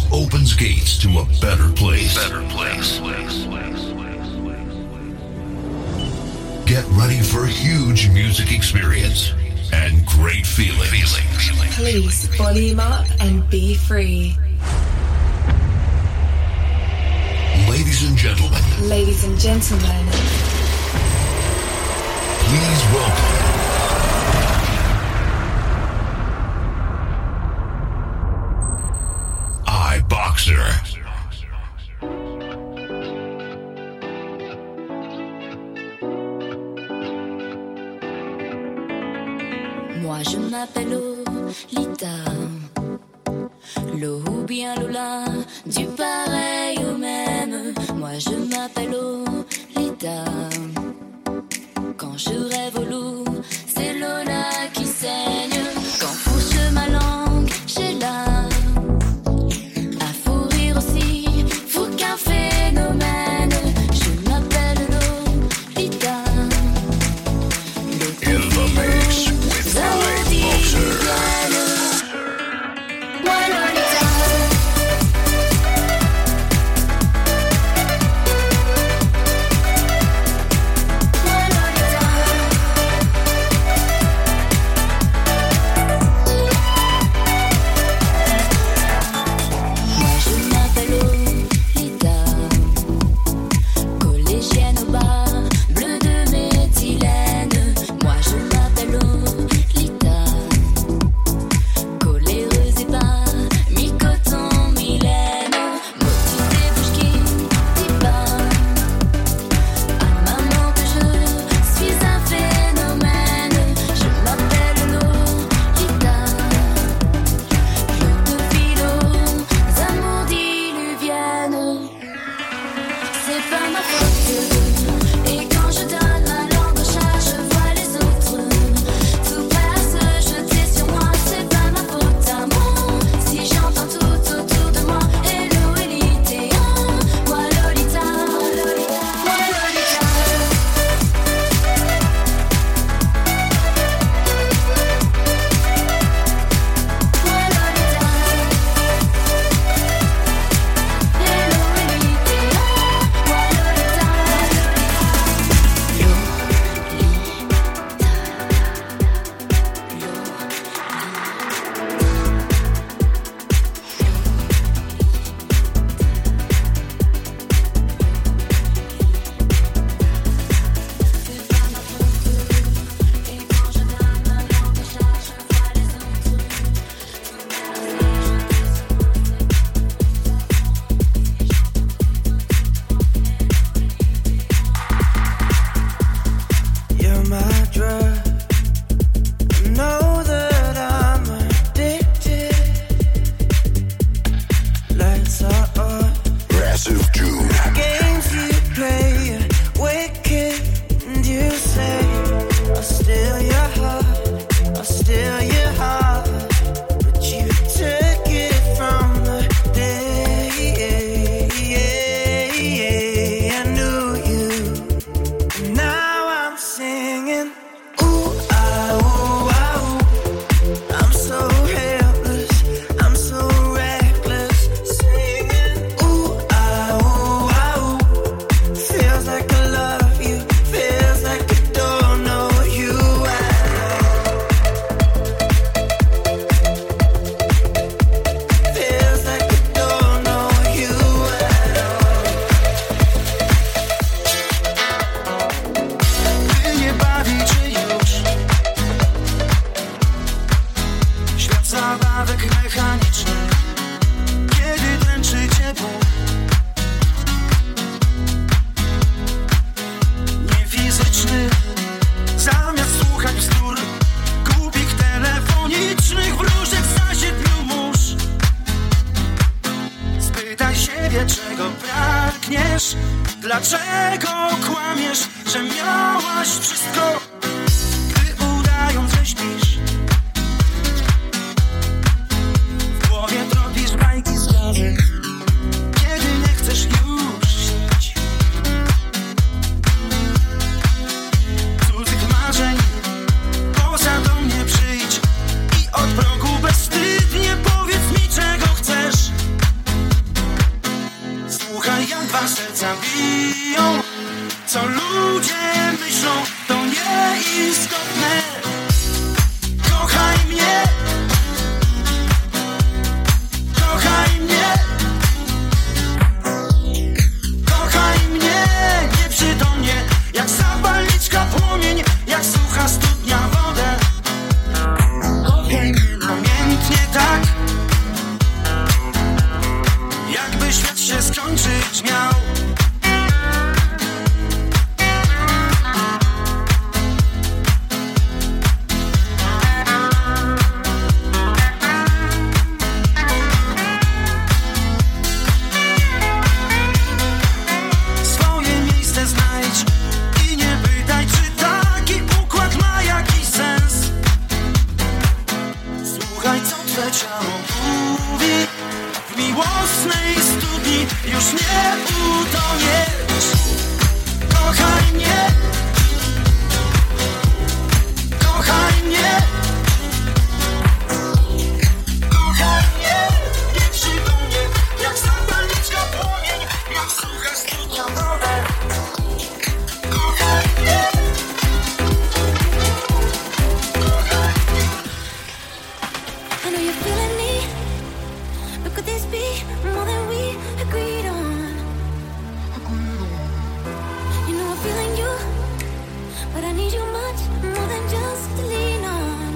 opens gates to a better place. Get ready for a huge music experience and great feelings. Please volume up and be free. Ladies and gentlemen. Please welcome iBoxer. Moi je m'appelle Lolita, Lo ou bien Lola, du pareil au même. Moi je m'appelle Lolita. Quand je rêve au loup, c'est Lola qui saigne. Quand pousse ma langue, j'ai là. À fou rire aussi, fou qu'un phénomène. Je m'appelle Lolita. In the mix with iBoxer. Dlaczego kłamiesz, że miałaś wszystko, gdy udając, że śpisz? W głowie tropisz bajki z głowy, kiedy nie chcesz już śnić. Cudzych marzeń, poza do mnie przyjdź i od progu bezwstydnie powiedz mi, czego chcesz. zabiją. Co ludzie myślą, to nieistotne. Kochaj mnie, kochaj mnie, kochaj mnie nieprzytomnie, jak zapalniczka płomień, jak sucha studnia wodę. Kochaj mnie namiętnie tak, jakby świat się skończyć miał. Już nie utoniesz. Kochaj mnie, kochaj mnie, kochaj mnie nieprzytomnie, jak zapalniczka płomień, jak sucha studnia wodę. Kochaj mnie, kochaj mnie. I know you're feeling me, but could this be more than we agreed on? You know I'm feeling you, but I need you much more than just to lean on.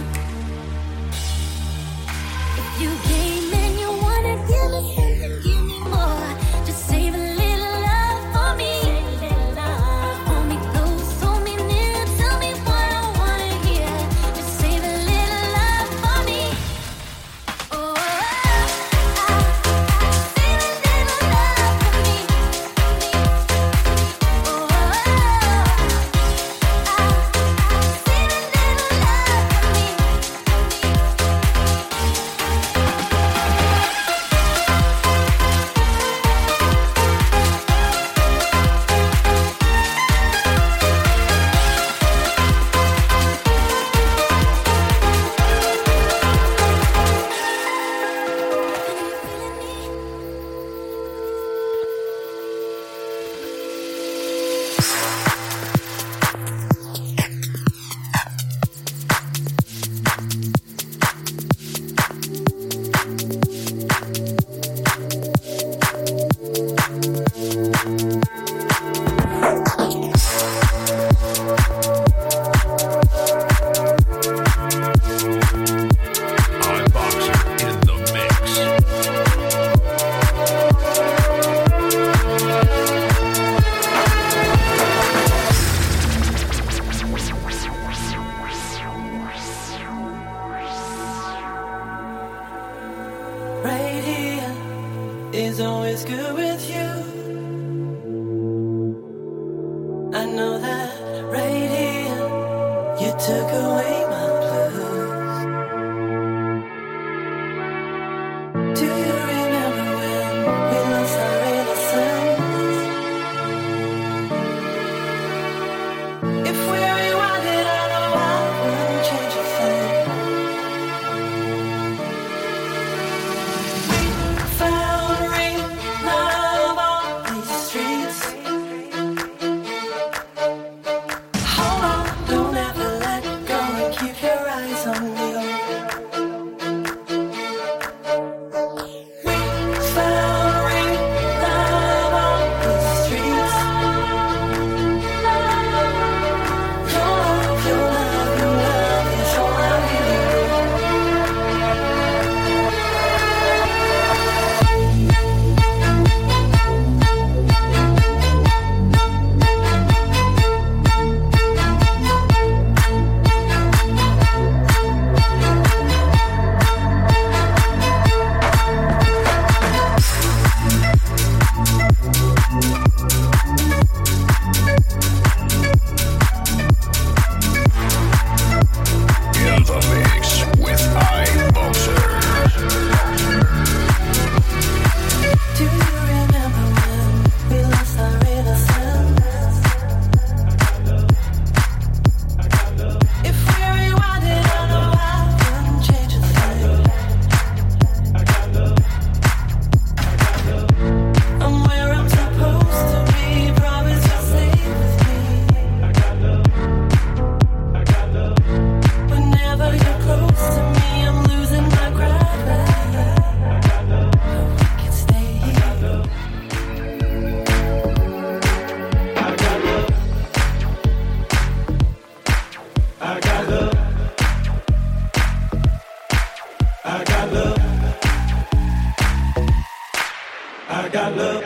If you came and you wanna give me something, give me more. Just save a little love for me. Hold me close, hold me near, tell me what I wanna hear. Just save a little love for me. Oh, save a little love for me. Oh, save a little love for me. Boxer in the mix. Right here is always good with you. I know that right here you took away my blues. Do you remember when we lost our innocence? If we rewind it, I know I wouldn't change a thing. Found real love on these streets. Hold on, don't ever let go and keep I got love.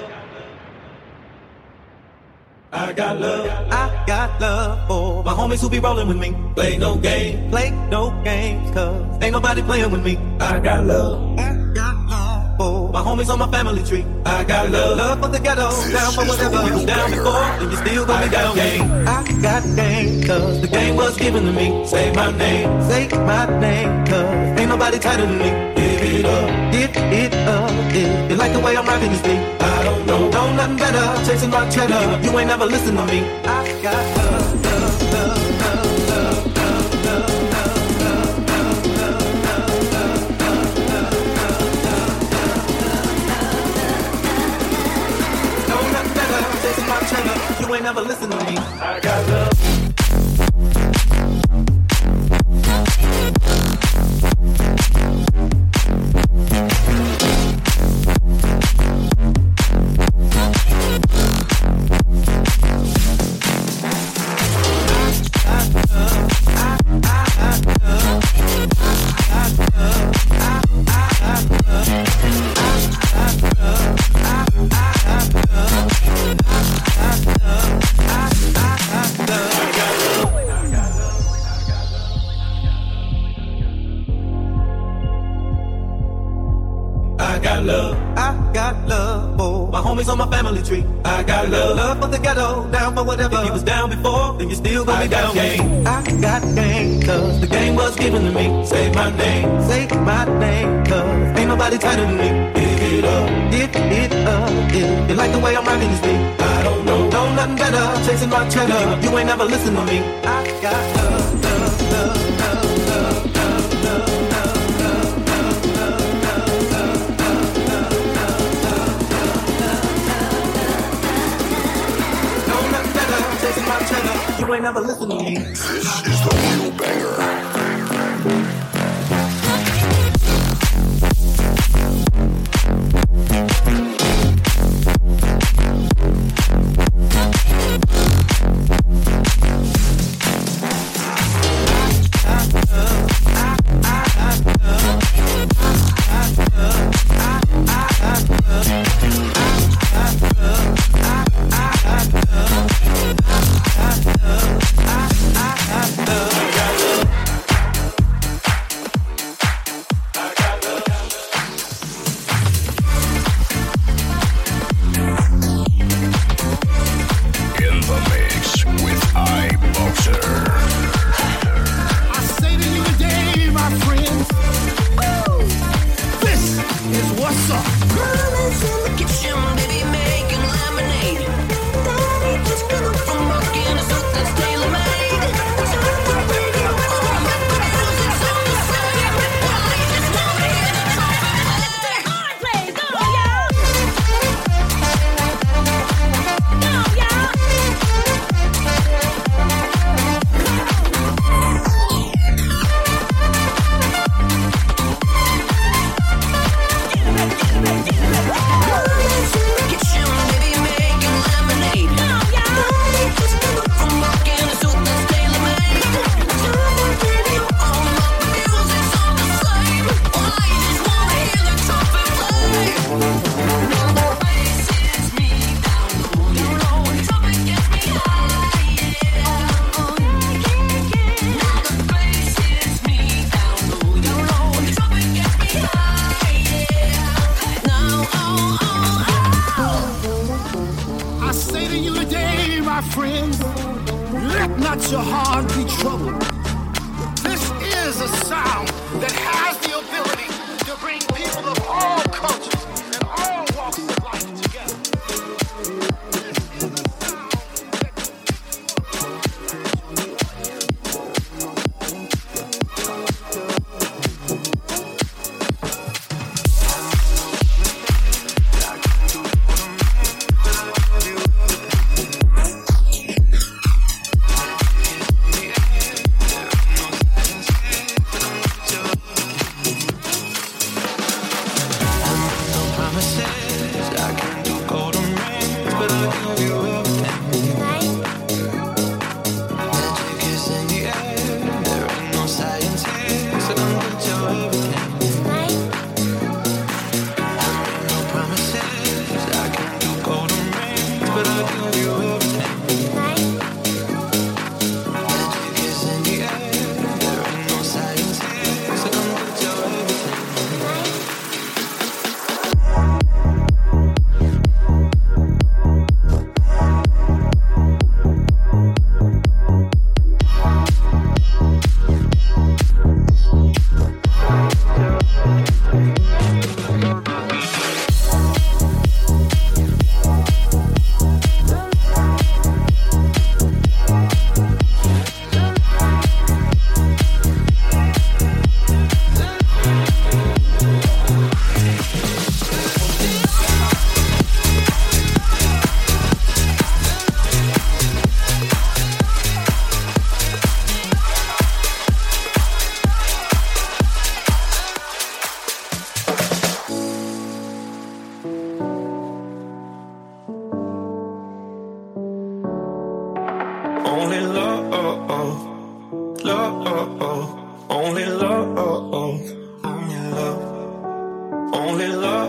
I got love. I got love for my homies who be rolling with me. Play no games, cause ain't nobody playing with me. I got love. I got love for my homies on my family tree. I got love for the ghetto, down for whatever. You was down before, and you still gon' be down. Game. I got game, cause the game was given to me. Say my name, cause ain't nobody tighter than me. Give it up, if you like the way I'm rocking this beat. I don't know nothing better, chasing my cheddar. You ain't never listen to me. I got love, love, love, love, love, love, love, love, love, love, love. Know nothing better, chasing my cheddar. You ain't never listen to me. I got love. On my family tree, I got love for the ghetto, down for whatever. If you was down before, then you still gon' be down. Game. I got game, cause the game was given to me. Say my name, cause ain't nobody tighter than me. Give it up, if you like the way I'm rocking this beat. I don't know nothing better, chasing my cheddar. You ain't never listen to me. I got love, love, love, love, love, love, love, love, love, love, love, love, chasing my cheddar, you ain't never listen to me. This is the real banger. Promises only love, only love, only love,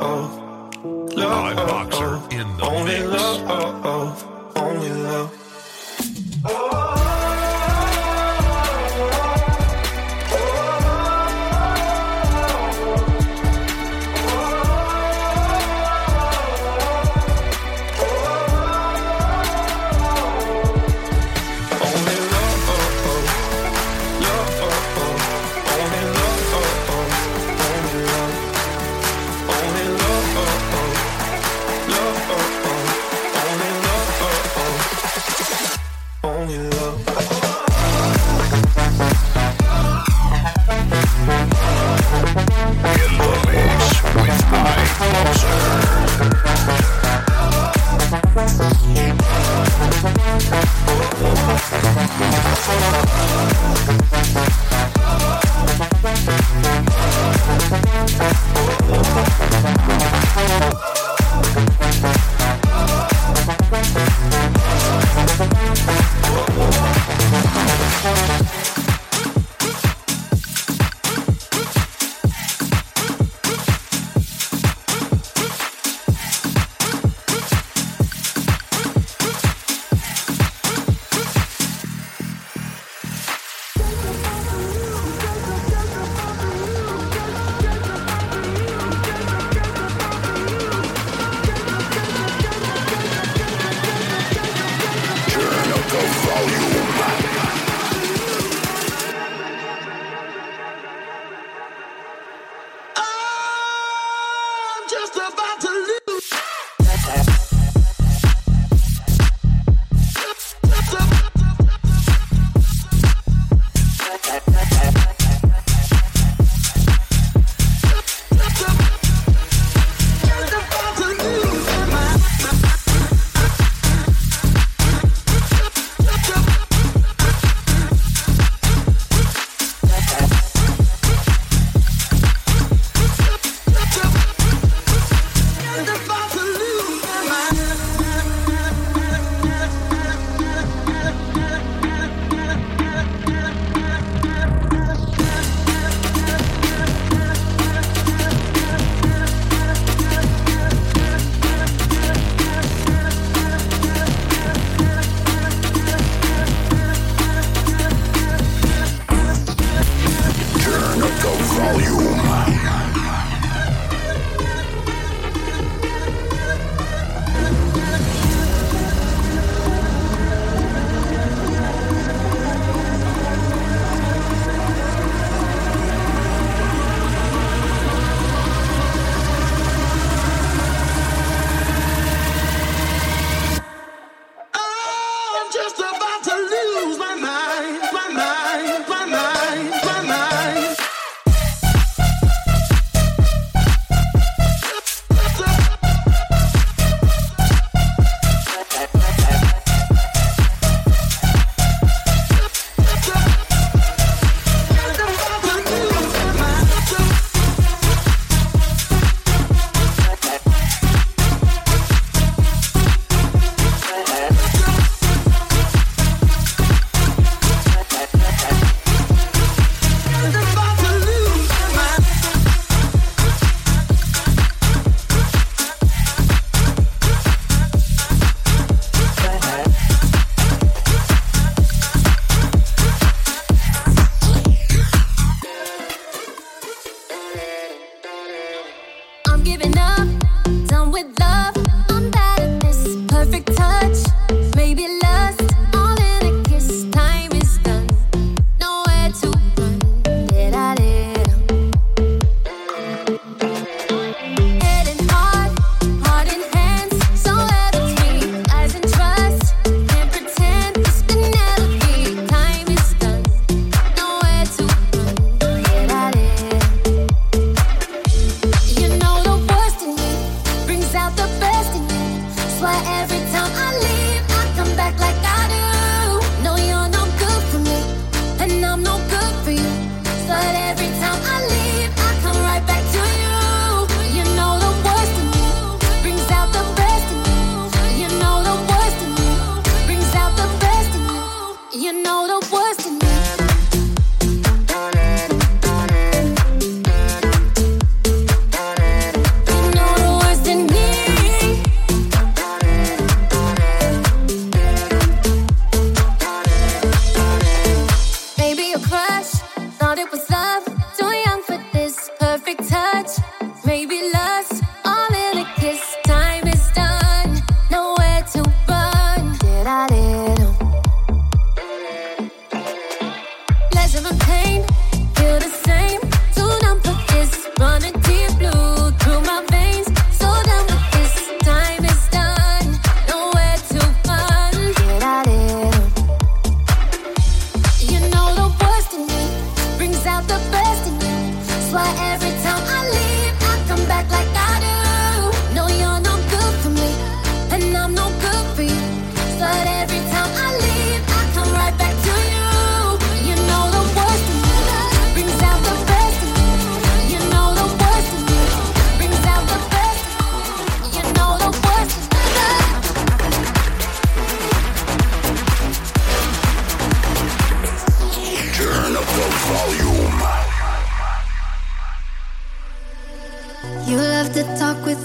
Live Boxer in the only mix. love, only love. You know the worst in me.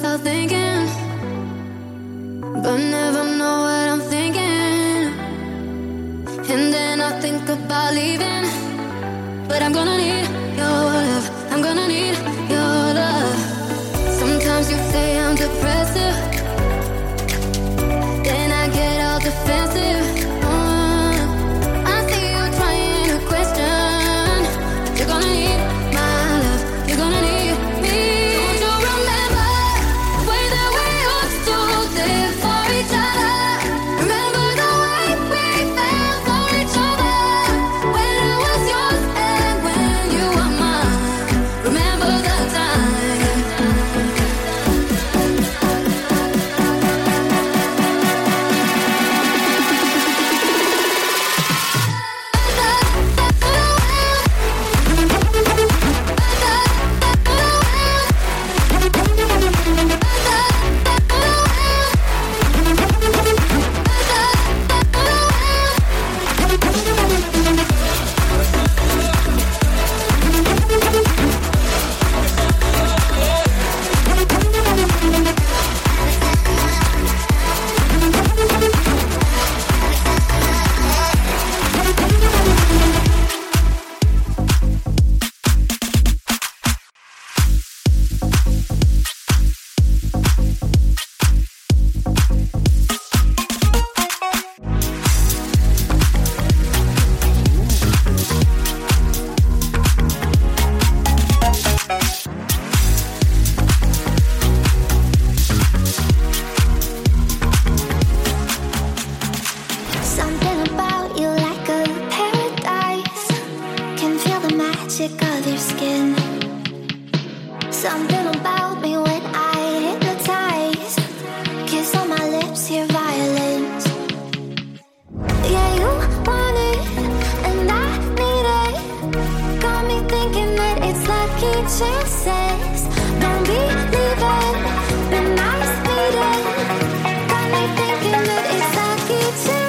start thinking, but never know what I'm thinking. And then I think about leaving, but I'm gonna need your love. I'm gonna need your love. Sometimes you say I'm depressive, then I get all defensive. I see you trying to question. You're gonna need my love. You're gonna need me. Don't you remember the way that we used to live for each other? Remember the way we felt for each other when I was yours and when you were mine. Remember the time. Something about you like a paradise. Can feel the magic of your skin. Something about me when I hypnotize. Kiss on my lips, hear violence. Yeah, you want it, and I need it. Got me thinking that it's lucky chances. Don't believe it, been nice meeting. Got me thinking that it's lucky chances.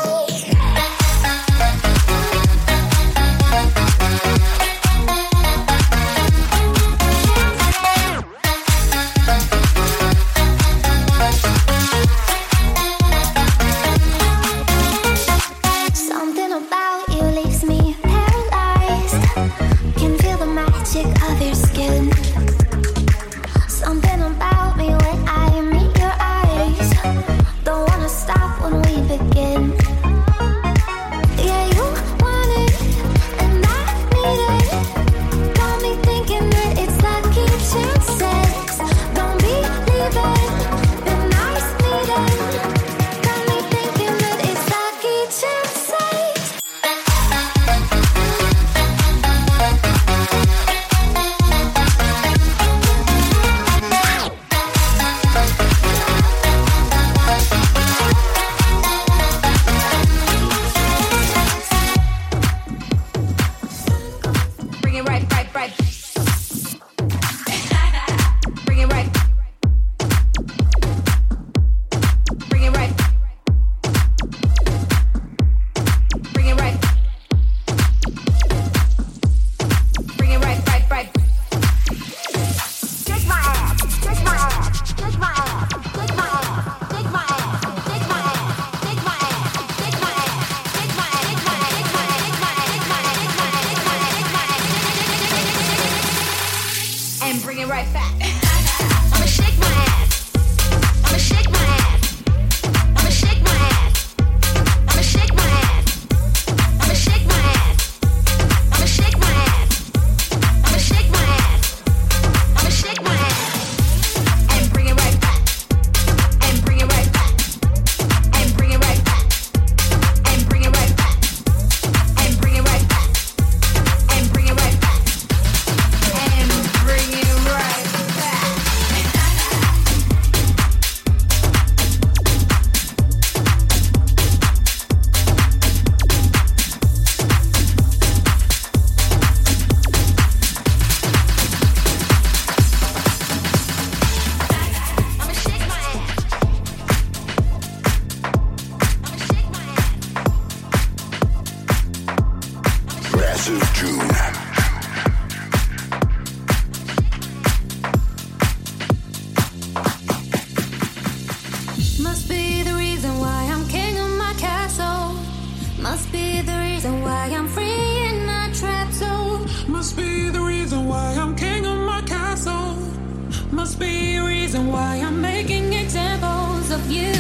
Something about you leaves me paralyzed. Can feel the magic of your skin. Something about me when I meet your eyes. Don't wanna stop when we begin. Yeah, you want it, and I need it. Got me thinking that it's lucky chances. Don't believe it, been nice meeting. Got me thinking that it's lucky chances. Bring it right, right, right. Bring it right. Bring it right. Bring it right. Bring it right, right, right. Kick my ass. Kick my ass. Kick my ass. Kick my ass. Kick my ass. Kick my ass. Kick my ass. Kick my ass. Kick my ass. Kick my ass. Kick my ass. Kick my ass. Kick my ass. Kick my ass. Kick my ass. Kick my ass. And bring it right back. I'ma shake my ass. I'ma shake my ass. I'ma shake my ass. I'ma shake my ass. I'ma shake my ass. I'ma shake my ass. I'ma shake my ass. I'ma shake my ass. And bring it right back. And bring it right back. And bring it right back. And bring it right back. And bring it right back. And bring it right back. And bring it right back. I'ma shake my ass. I'ma shake my ass. Massive June. be a reason why I'm making examples of you.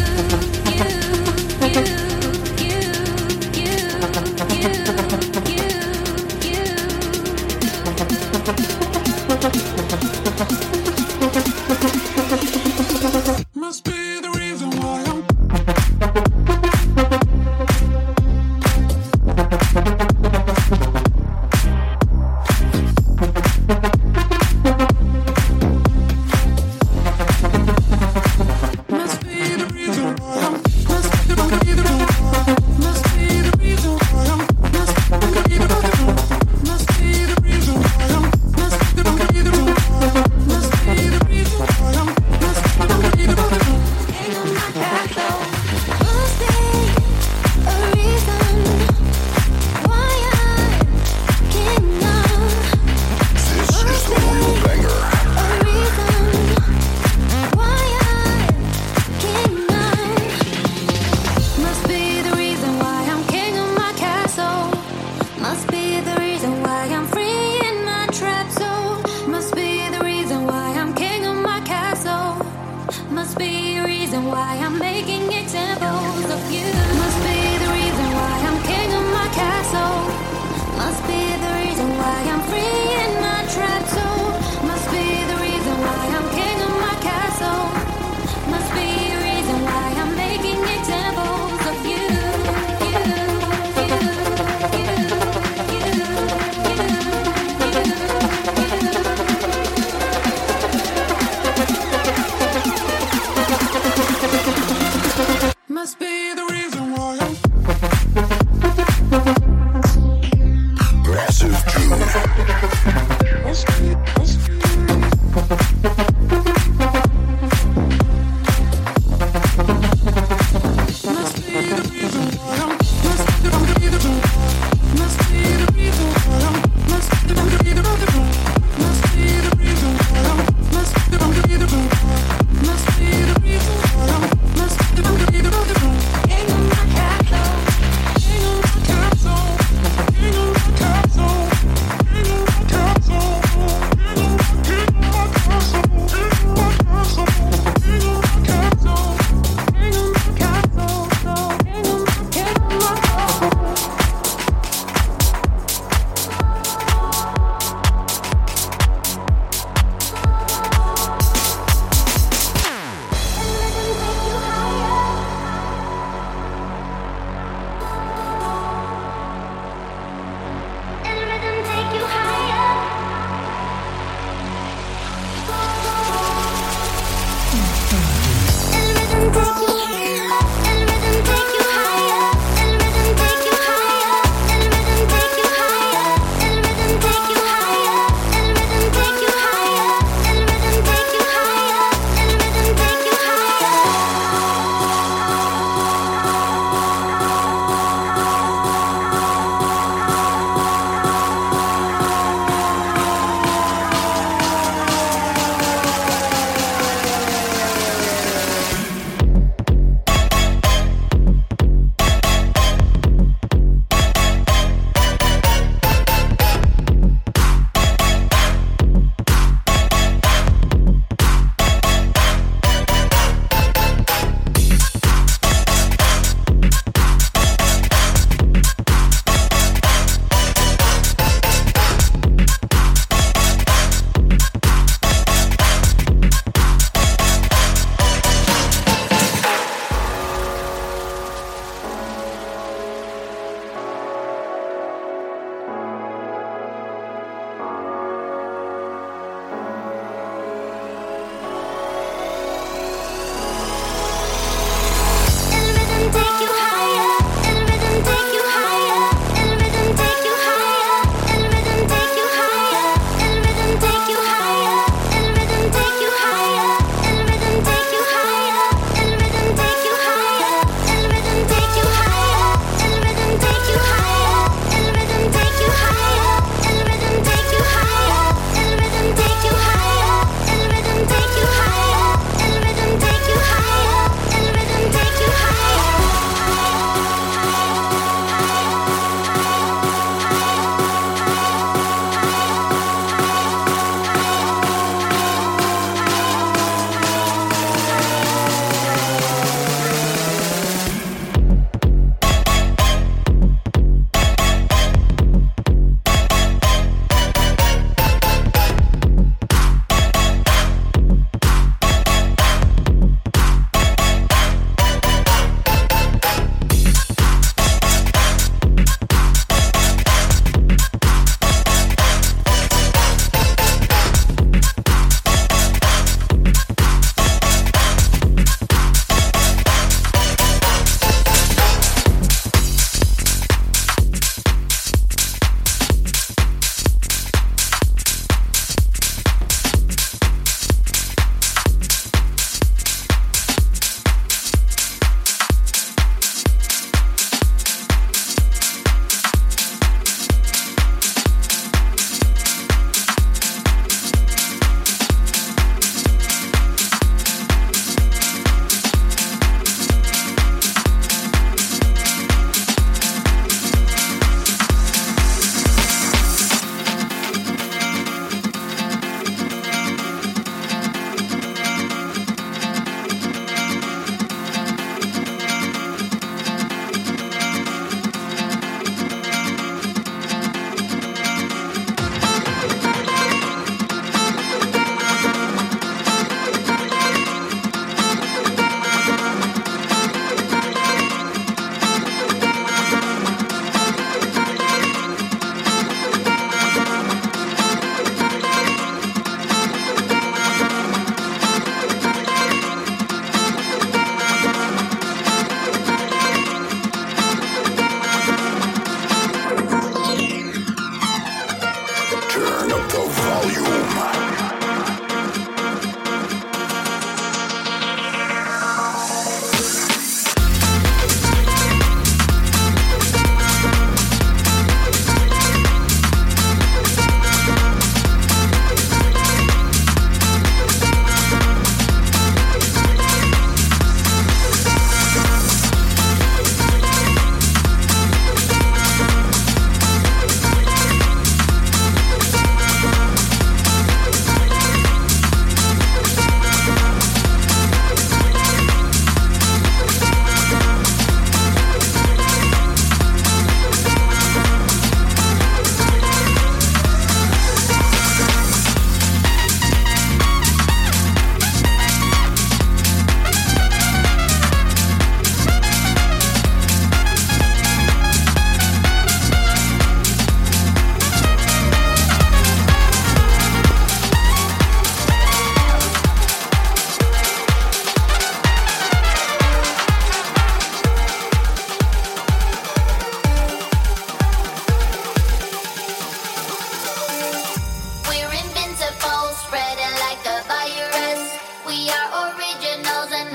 Must be the reason why I'm must be the reason why I'm Massive June.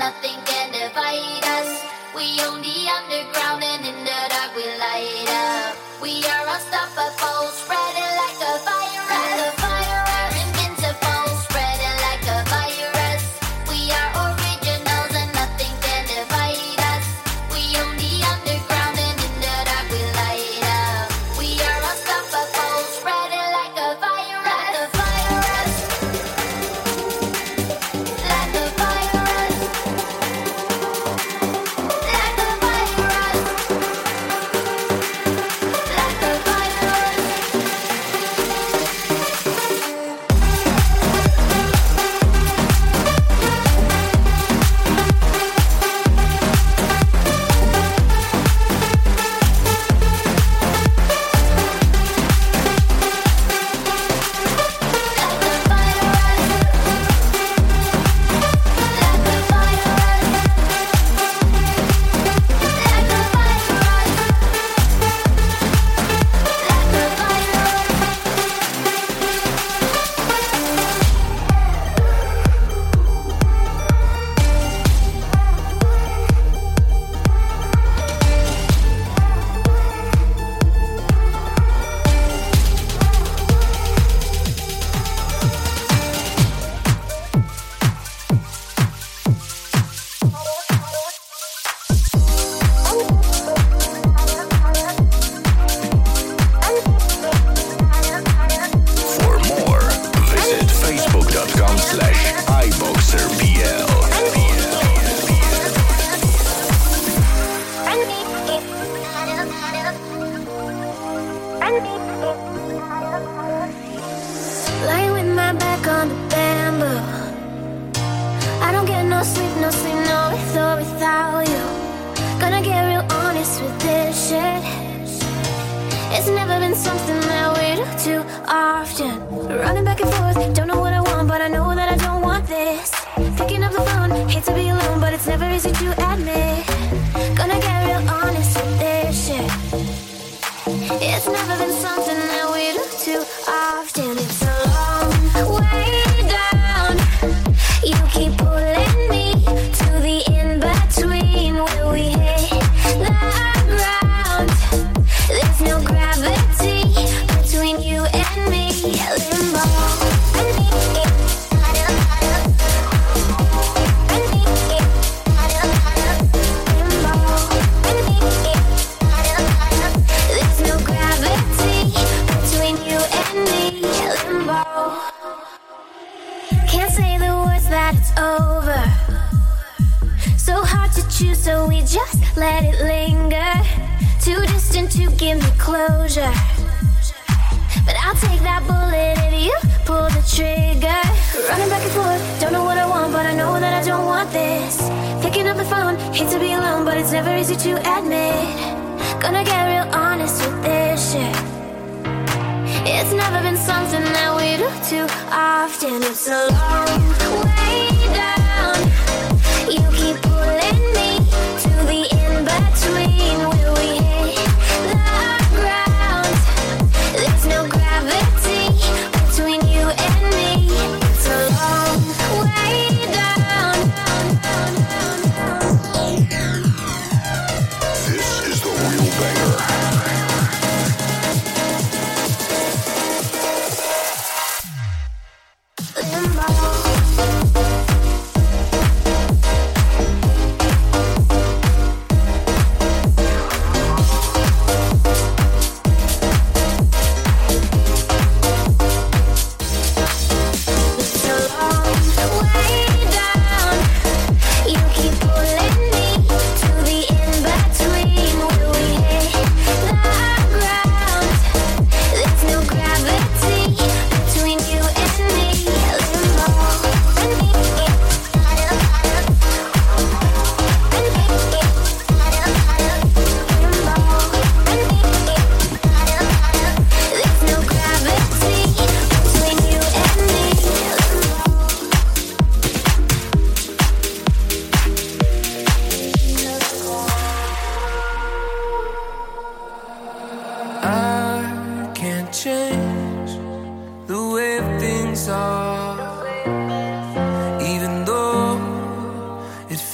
nothing can divide us. We own the underground and in the dark we light up. We are unstoppable, spreading like a virus, invincible, spreading like a virus. We are originals and nothing can divide us. We own the underground and in the dark we light up. We are unstoppable, spreading like a virus, like a virus, like a virus, like a virus, like a virus. For more, visit facebook.com/iboxerpl. Lying with my back on the bamboo. I don't get no sleep, no with or without you. Gonna get real honest with this shit. It's never been something that we do too often. Running back and forth, don't know what I want, but I know that I don't want this. Picking up the phone, hate to be alone, but it's never easy to admit. Gonna get real honest with this shit. It's never been something that we do too often. It's a long way down. You keep pulling me to the in-between where we hit the ground. There's no gravity between you and me. Limbo. There's no gravity between you and me. Limbo. Can't say the words that it's over. So hard to choose, so we just let it linger. Too distant to give me closure. But I'll take that bullet if you pull the trigger. Running back and forth, don't know what I want, but I know that I don't want this. Picking up the phone, hate to be alone, but it's never easy to admit. Gonna get real honest with this shit. It's never been something that we do too often. It's a long way down. You keep pulling me to the in-between where we hit the ground. There's no gravity between you and me. It's a long way down. This is the real banger. Limbo.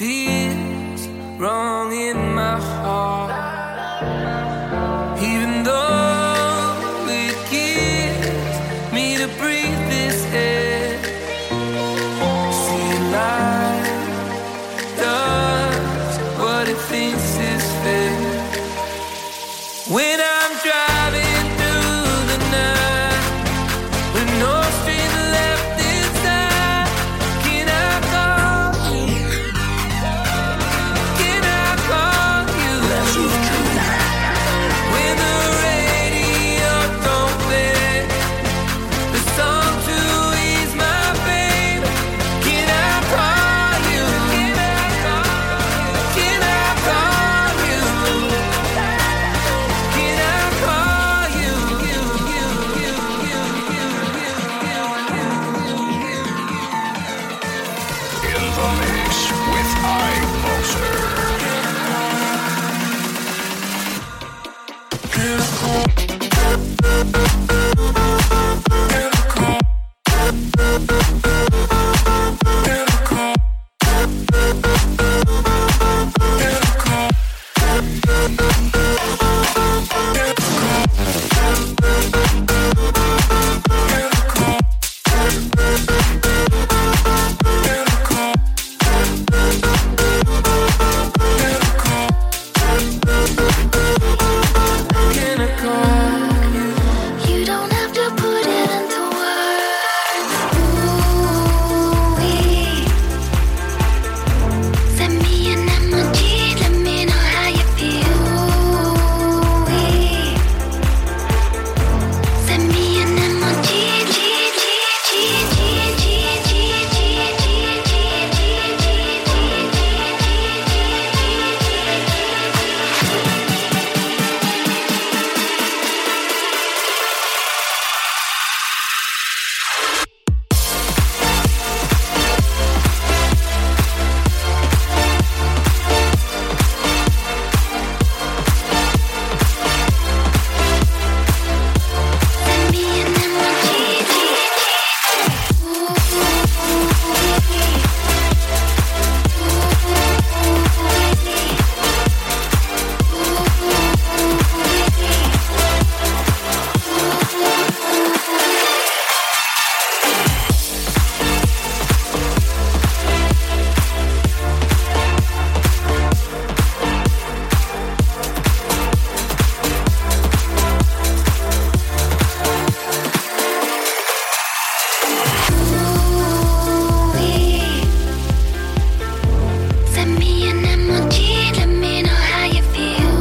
feels wrong in my heart. Even though it gives me to breathe this air. See, life does what it thinks is fair. When I'm driving through the night with no strength left inside, can I call you? Can I call you? When the radio don't play the song to ease my pain, can I call you? Can I call you? Can I call you? Can I call you? In the mix with iBoxer. Can I call you? You don't have to put it into words. Ooh-wee. Send me an emoji, let me know how you feel. Ooh-wee. Send me an emoji, Send me an emoji. Send me an emoji, let me know how you feel.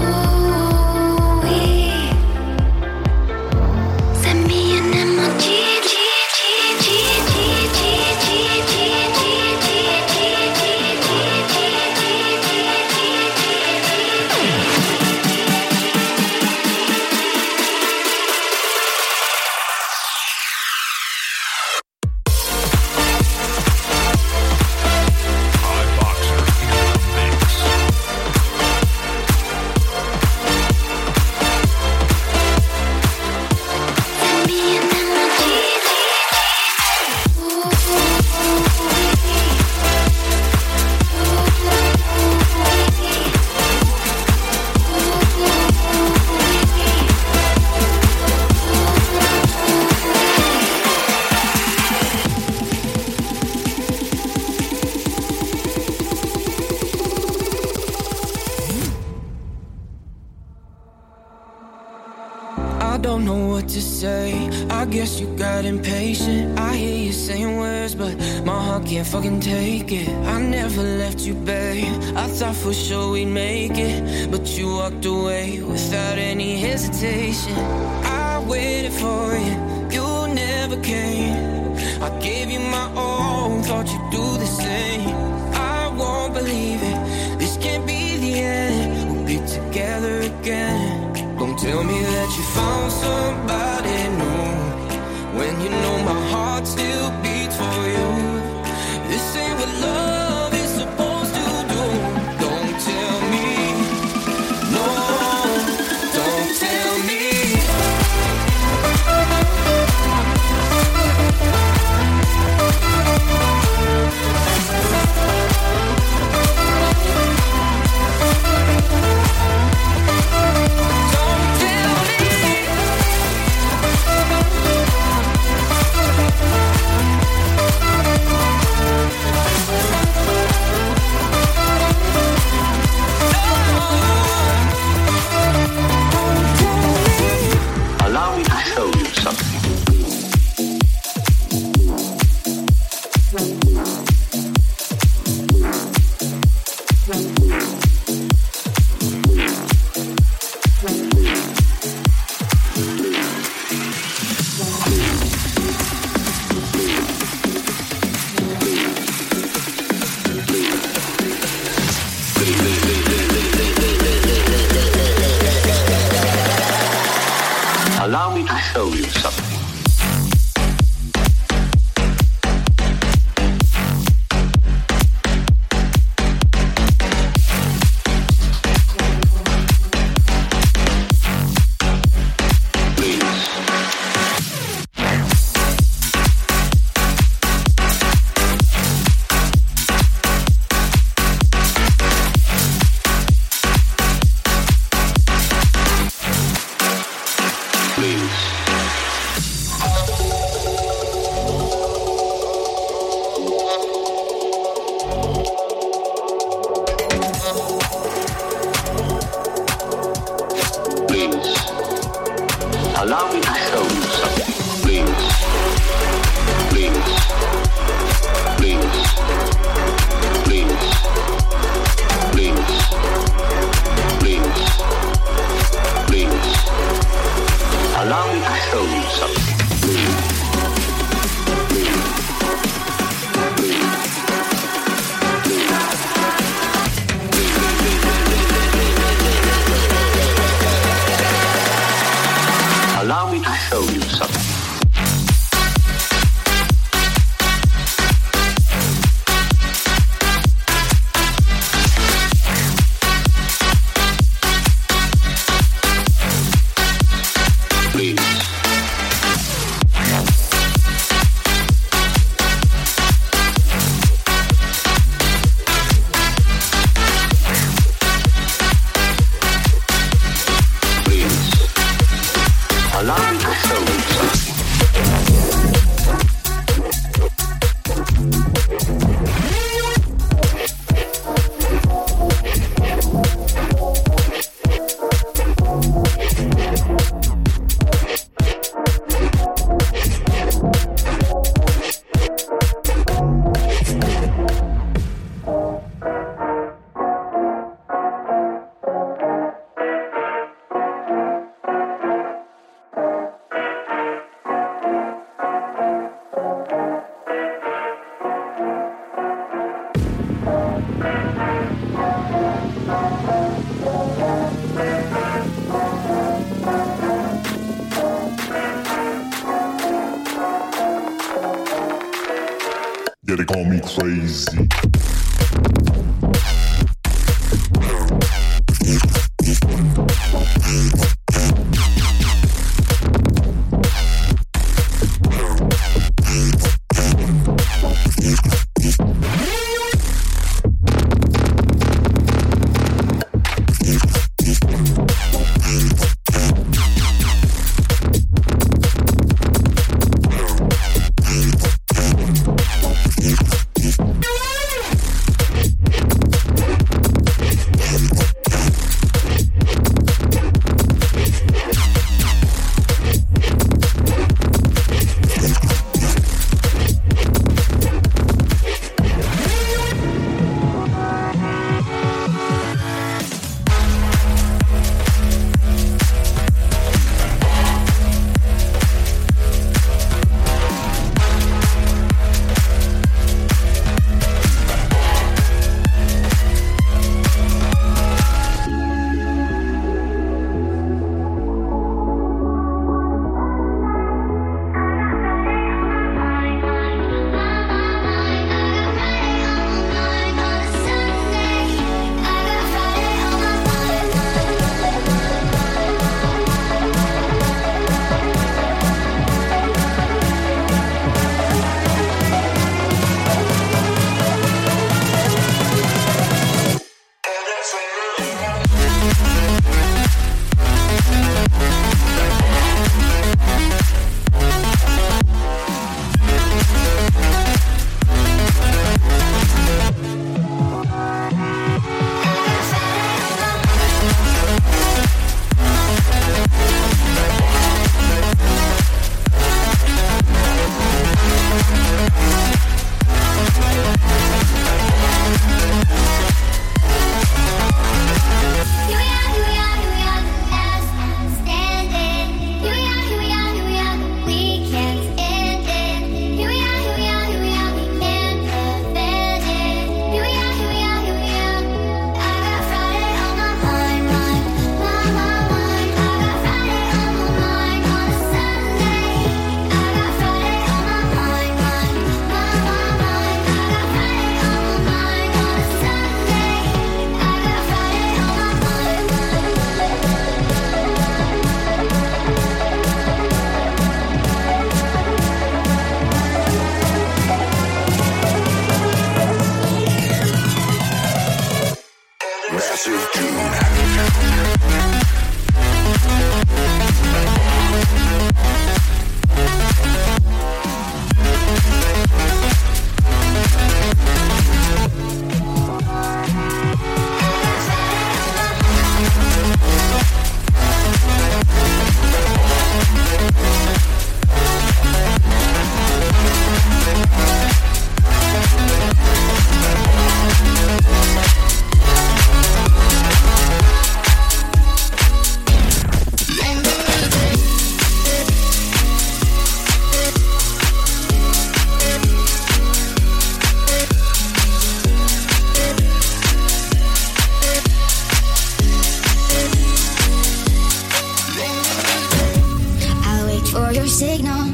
Send me an emoji. iBoxer in the mix. Send me an emoji. I don't know what to say. I guess you got impatient. I hear you saying words, but my heart can't fucking take it. I never left you, babe. I thought for sure we'd make it, but you walked away without any hesitation. I waited for you, you never came. I gave you my all, thought you'd do the same. I won't believe it, this can't be the end. We'll be together again. Don't tell me that you found somebody new, when you know my heart still beats for you. This ain't what love is supposed to do. Don't tell me, no, don't tell me. Allow me to show you something. Yeah, they call me crazy. Massive Doom. Signal,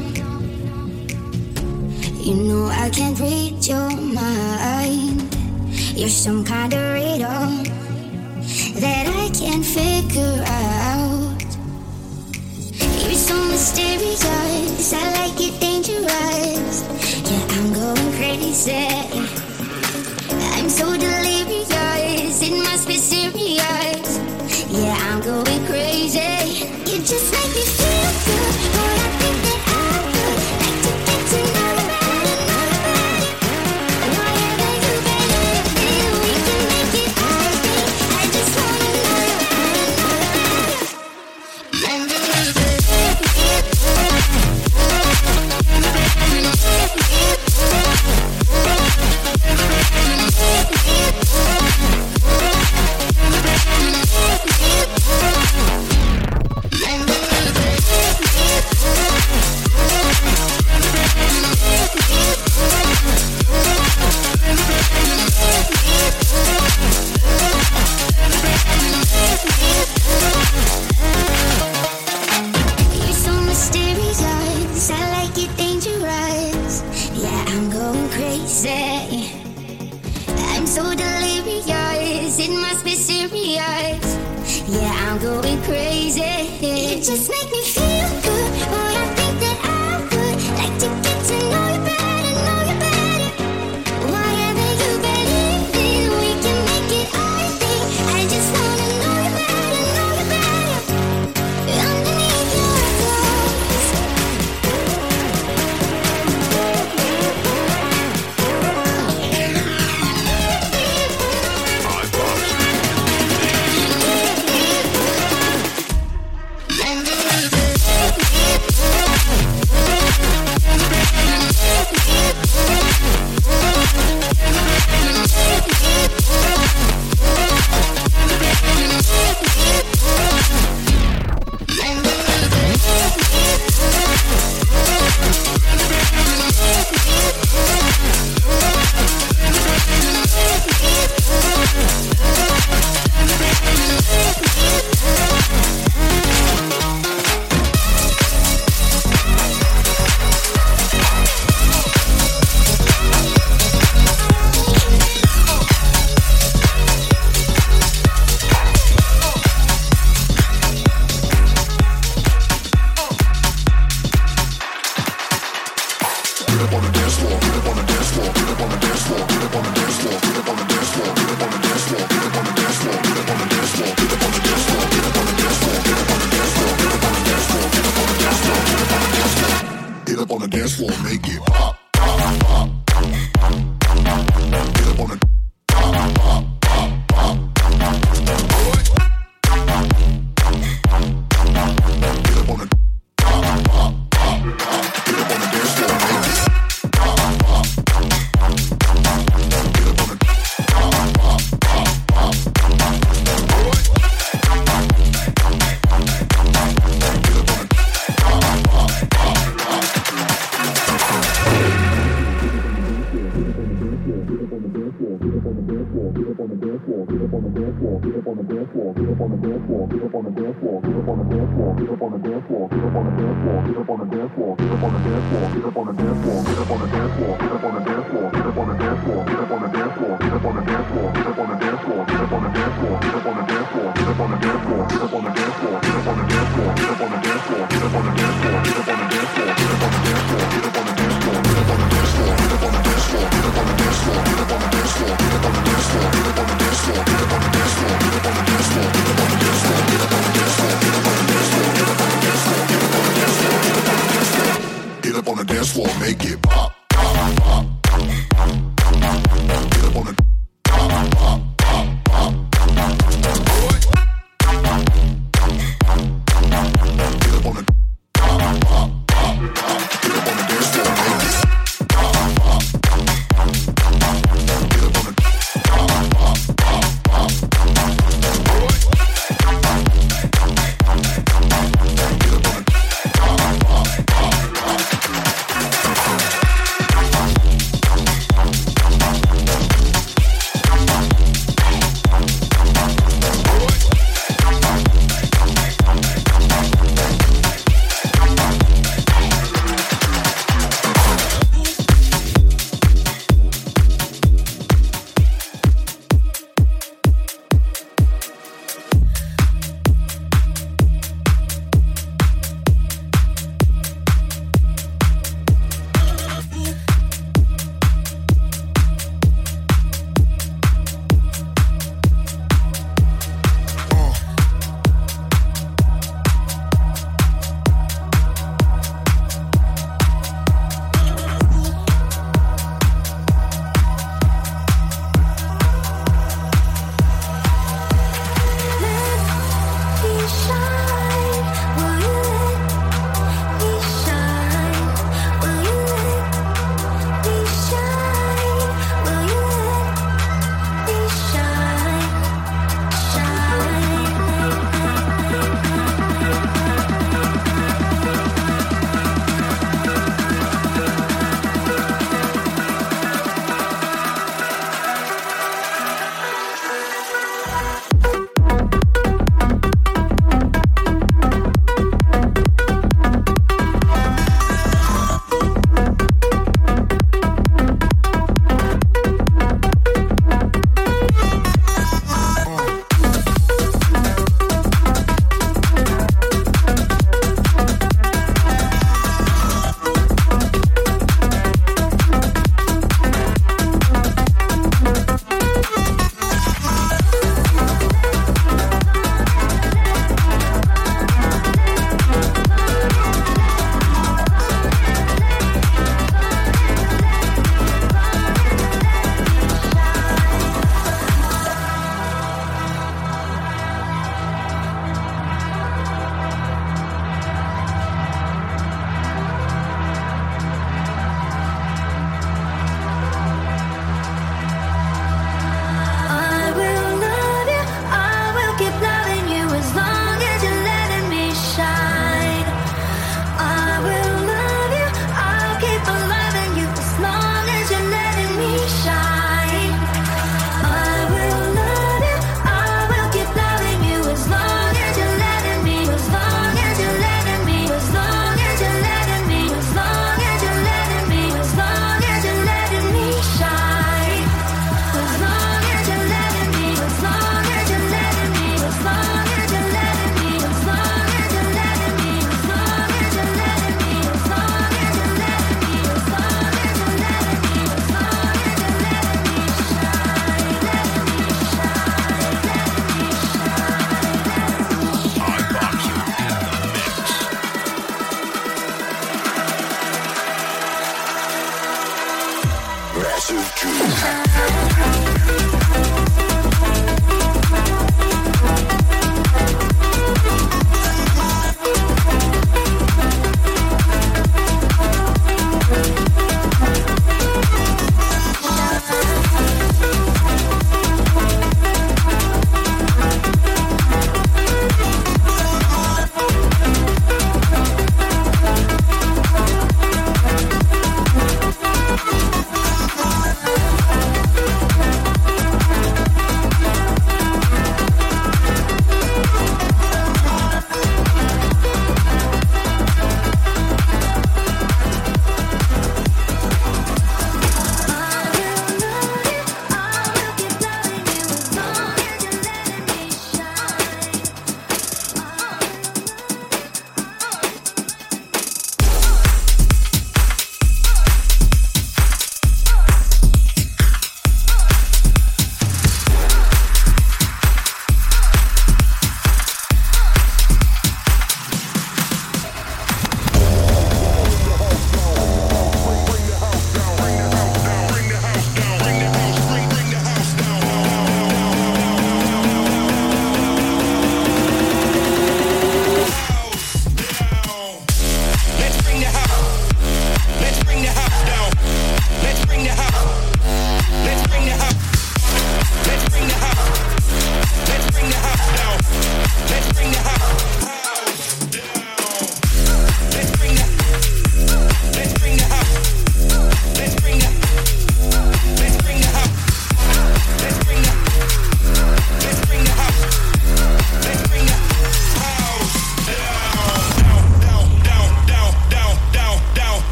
you know I can't read your mind. You're some kind of riddle that I can't figure out. You're so mysterious, I like it dangerous. Yeah, I'm going crazy. I'm so delirious, it must be serious. Yeah, I'm going crazy. You just make me feel good. Boy, I think that I would like to get to know you better, know you better. Whatever you believe, we can make it all day. I just wanna know you better, know you're so mysterious, I like it dangerous. Yeah, I'm going crazy. I'm so delirious, it must be serious. Yeah, I'm going crazy. You just make me feel good. Boy, I think that I would like to get to know you better, know you better. Whatever you believe in, we can make it all day. I just wanna know you better, know you better. Underneath your clothes. Get up on the dance floor, make it pop, pop, pop. Get up on the pop, pop, pop, pop. Get up on the pop, pop, pop, pop. Get up on the dance floor, make it pop, pop. Get up on the pop, pop, pop, pop. Get up on the dance floor. dance floor, make it pop, pop, pop. Get up on the pop, pop, pop, pop. Get up on the pop, pop, pop, pop. Get up on the dance floor, make it pop, pop. Get up on the pop, pop, pop, pop.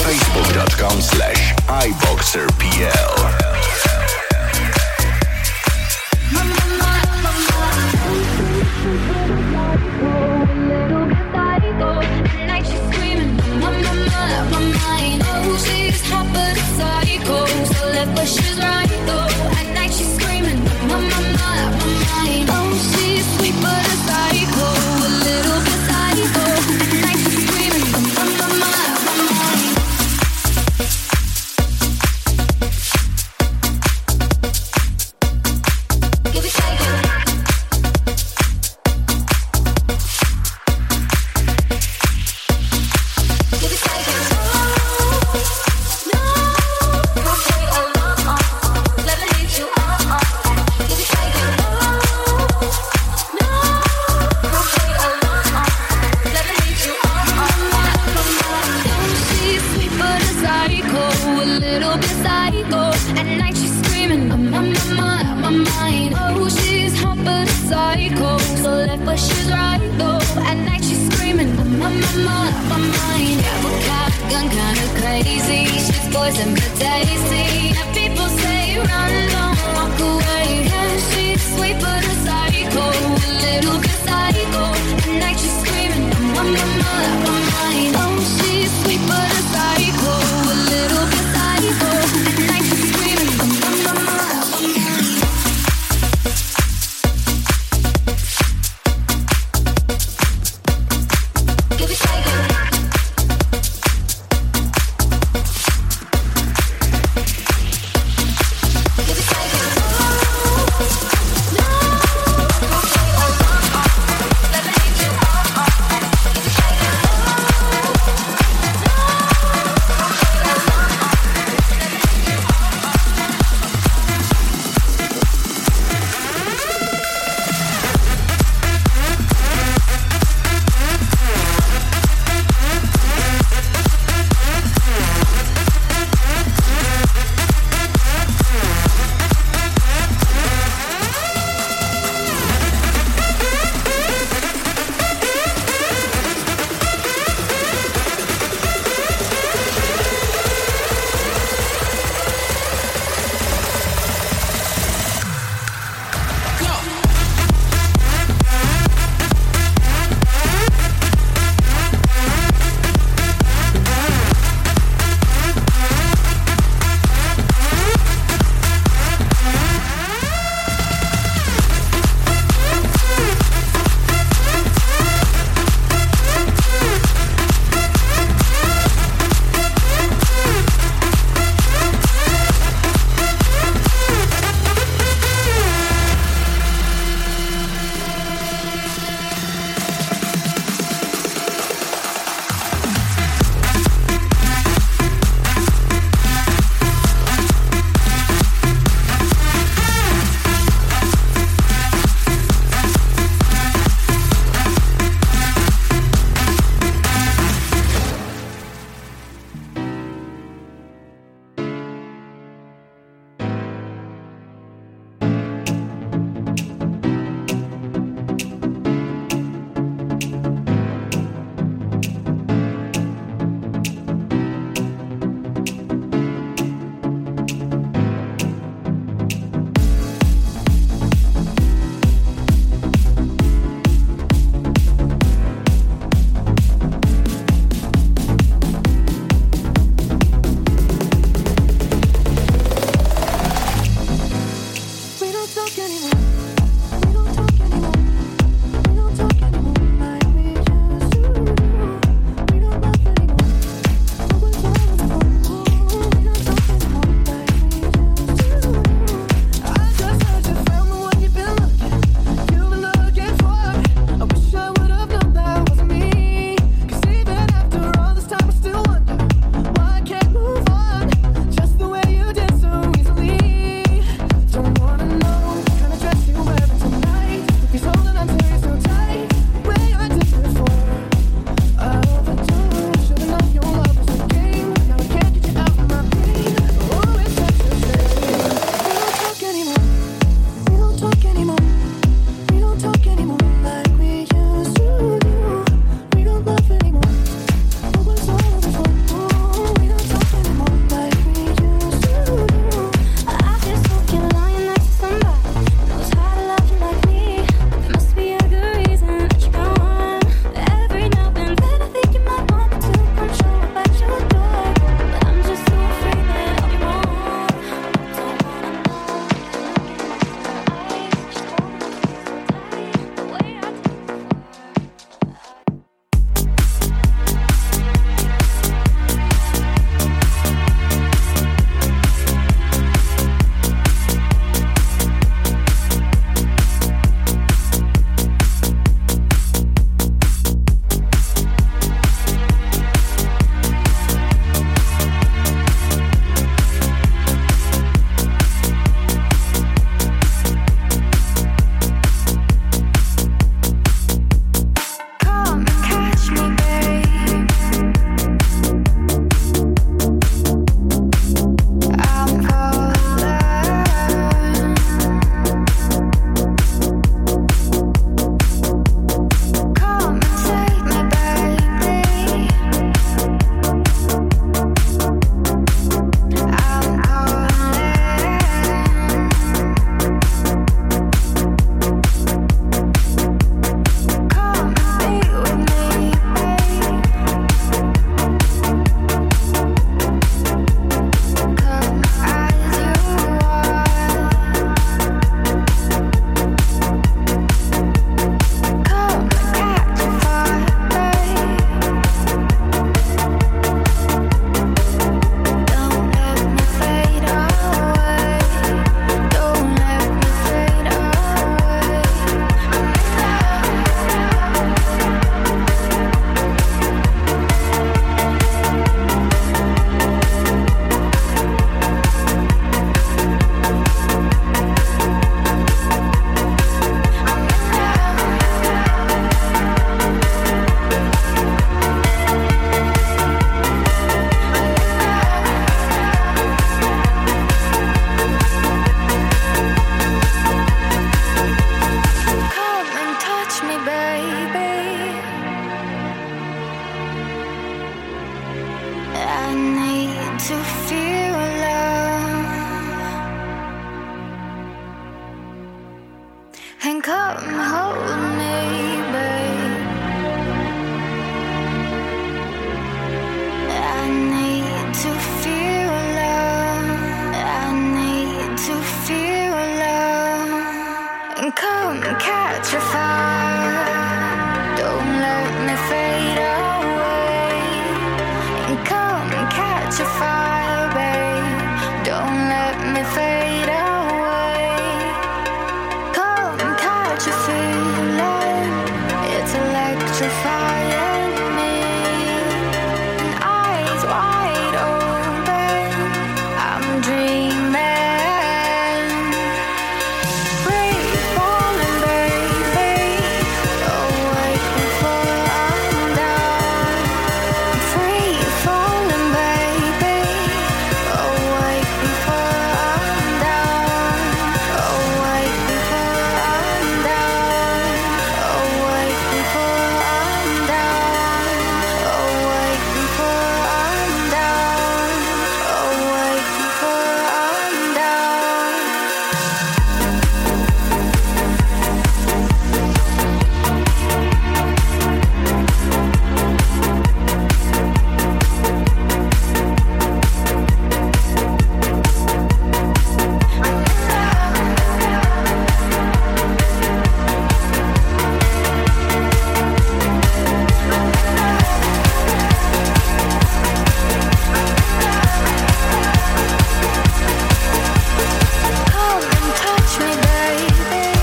facebook.com/iboxerpl. But she's right though. At night she's screaming, my mind. Oh, she's sweet but a psycho, a little bit psycho. At night she's screaming, my mind. Give it, take it. Give it, take it. But she's right though. At night she's screaming, my mind. Yeah, but gun kinda crazy. She's poison but tasty. And people say run, don't walk away. Yeah, she's sweet but a psycho, a little bit psycho. At night she's screaming, my mind. Oh, she's sweet but a psycho, a little bit psycho. At night she's screaming, my mind. Give it, take it. I need to feel love. And come hold me, babe. I need to feel love. I need to feel love. And come catch a fire. Don't let me fade away. And come catch a fire, babe. Don't let me fade away. Come catch a feeling. It's electrifying me. And eyes wide open, I'm dreaming. Free falling, baby. Awake before I'm done. Free falling, baby. Awake before I'm done. Awake before I'm done. Awake before I'm done. Awake before I'm done. Awake before I'm done. Come and touch me, baby.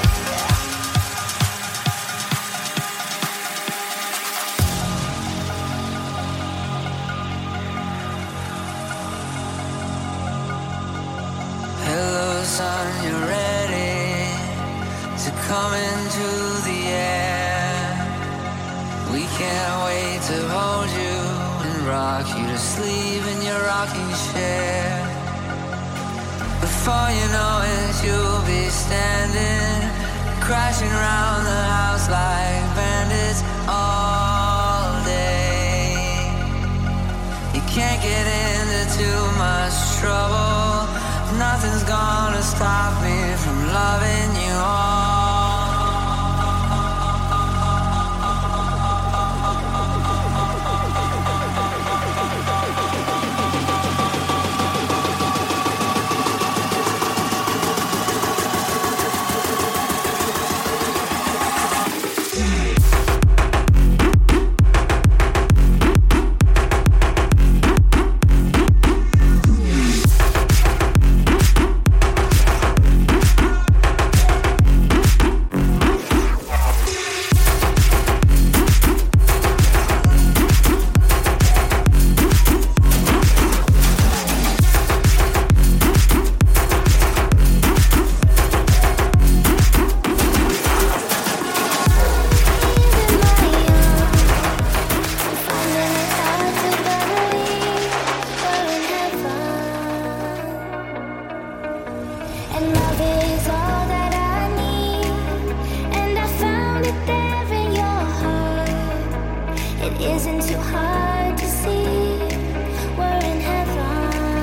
Hello, sun, you ready to come into the air? We can't wait to hold you and rock you to sleep in your rocking chair. Before you know it, you'll be standing, crashing around the house like bandits all day. You can't get into too much trouble. Nothing's gonna stop me from loving you all. And love is all that I need, and I found it there in your heart. It isn't too hard to see, we're in heaven.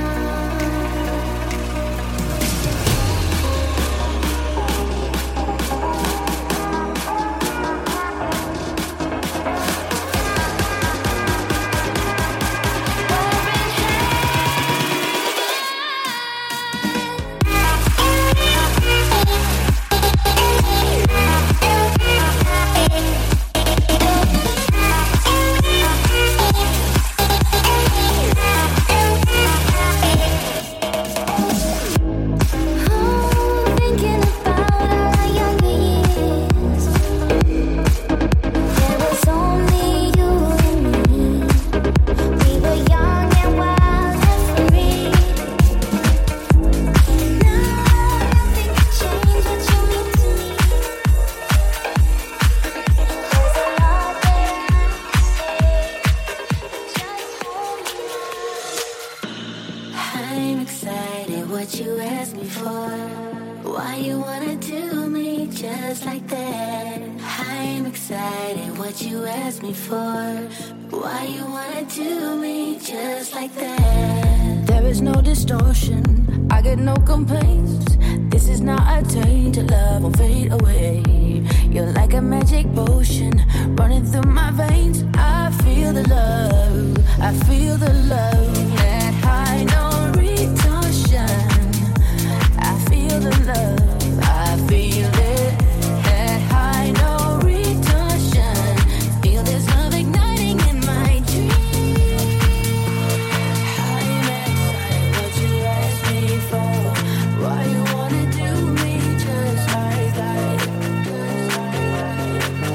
what you asked me for. Why you wanna do me just like that? I'm excited what you asked me for. Why you wanna do me just like that. There is no distortion, I get no complaints. This is not a tainted love, won't fade away. You're like a magic potion running through my veins. I feel the love, I feel the love. That high, no retortion. I feel the love, I feel it. That high, no retortion. Feel this love igniting in my dreams. I'm excited what you asked me for. Why you wanna do me just like that?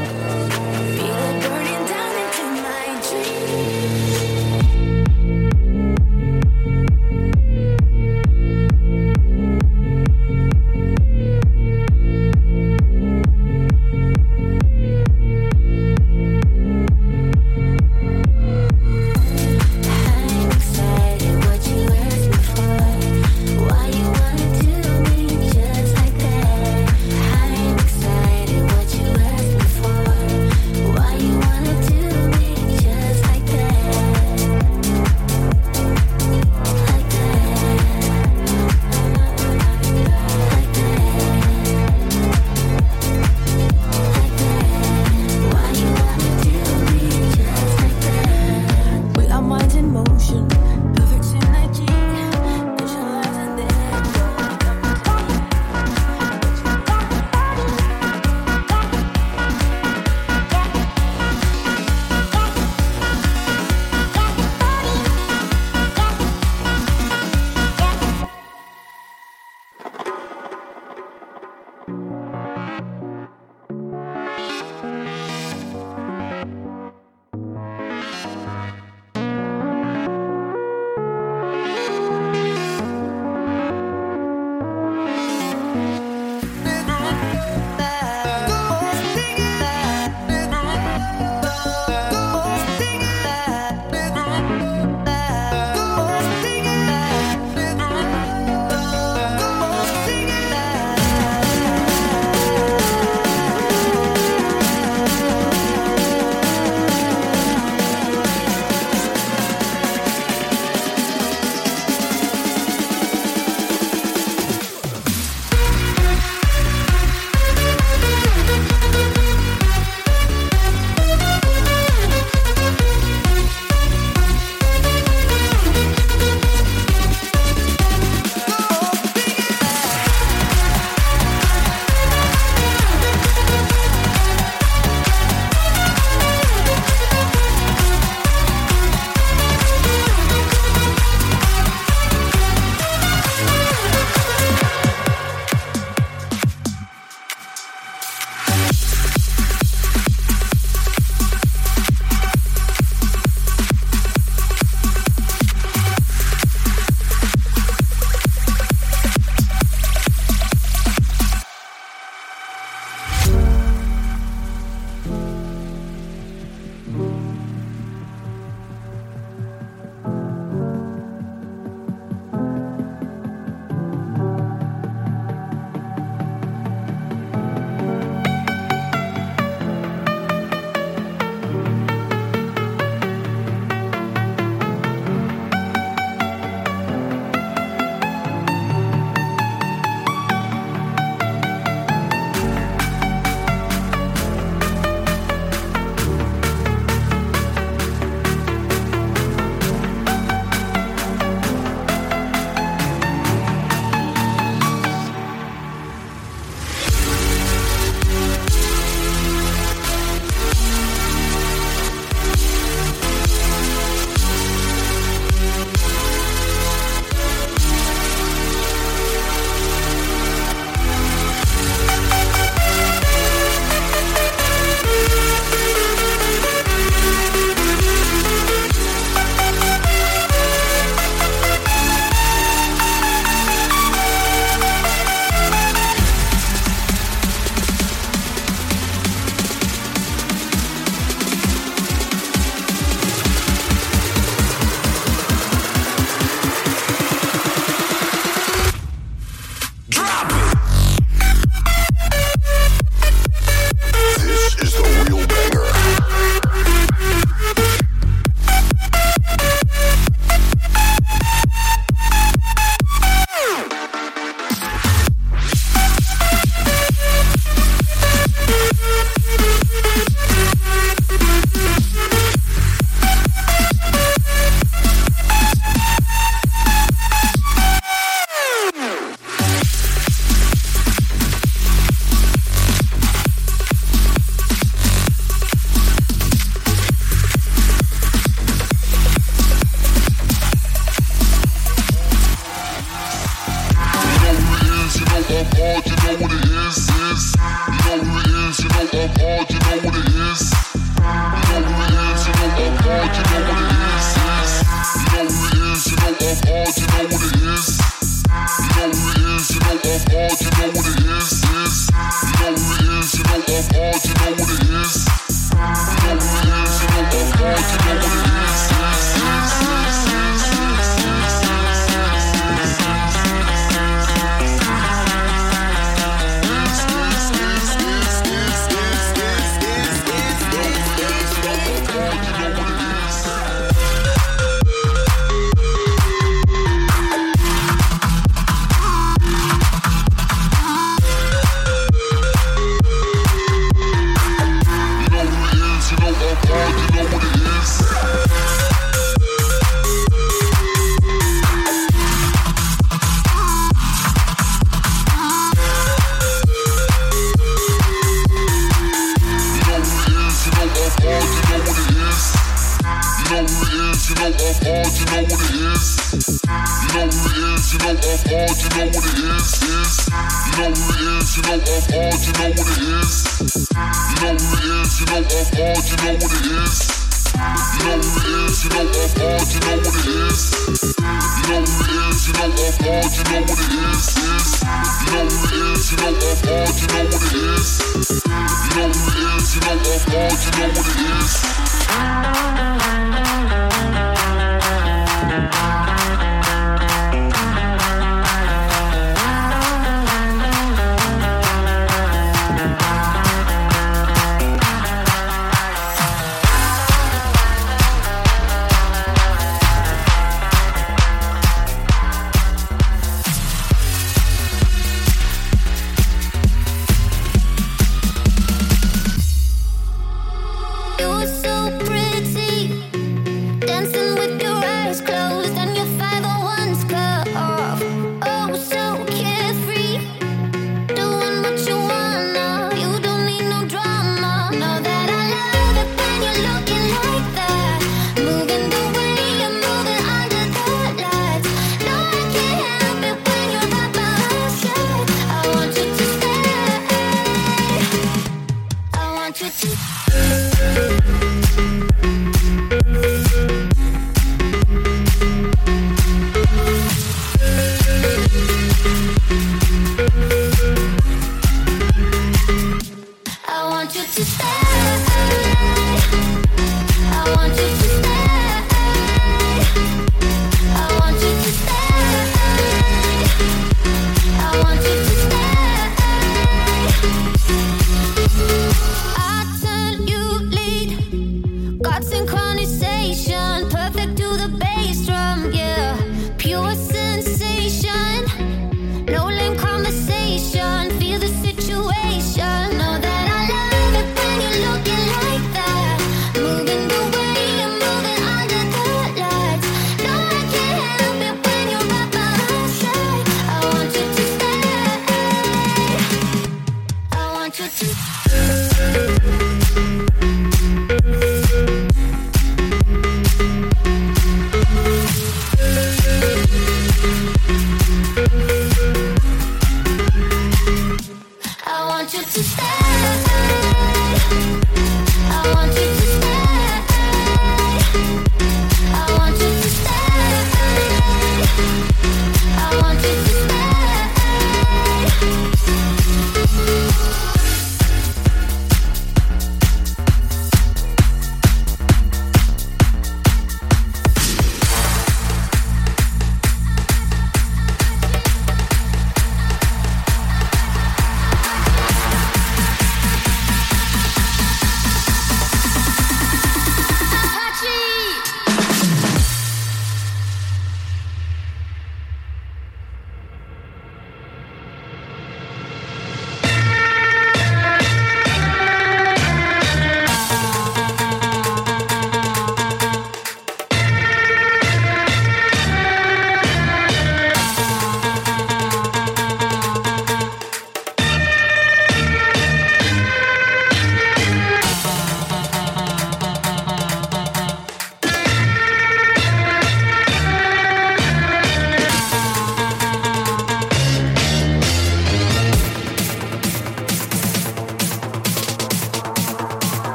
Feel it burning down into my dreams. know I'm hard, you know what it is. You know who it is, you know I'm hard, you know what it is. You know who it is, you know I'm hard, you know what it is. You know who it is, you know I'm hard, you know what it is. You know who it is, you know I'm hard, you know what it is. You know who it is, you know I'm hard, you know what it is. You know who it is, you know I'm hard, you know what it is. You know who it is, you know I'm hard, you know what it is.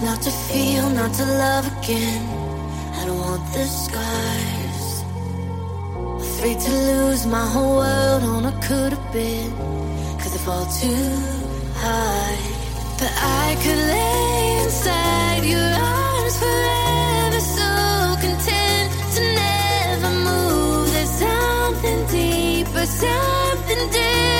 Not to feel, not to love again. I don't want the scars. Afraid to lose my whole world on a could have been. Cause I fall too high. But I could lay inside your arms forever, so content to never move. There's something deeper, something different.